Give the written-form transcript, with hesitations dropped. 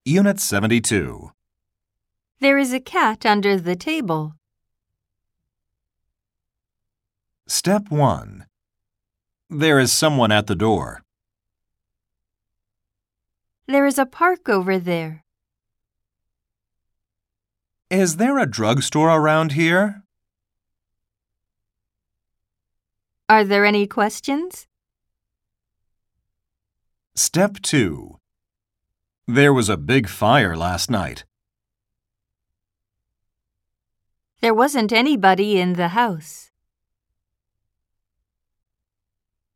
Unit 72. There is a cat under the table. Step 1. There is someone at the door. There is a park over there. Is there a drugstore around here? Are there any questions? Step 2. There was a big fire last night. There wasn't anybody in the house.